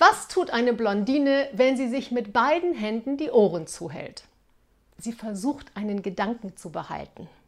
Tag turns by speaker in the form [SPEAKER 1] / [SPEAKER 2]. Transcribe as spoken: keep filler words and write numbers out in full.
[SPEAKER 1] Was tut eine Blondine, wenn sie sich mit beiden Händen die Ohren zuhält? Sie versucht, einen Gedanken zu behalten.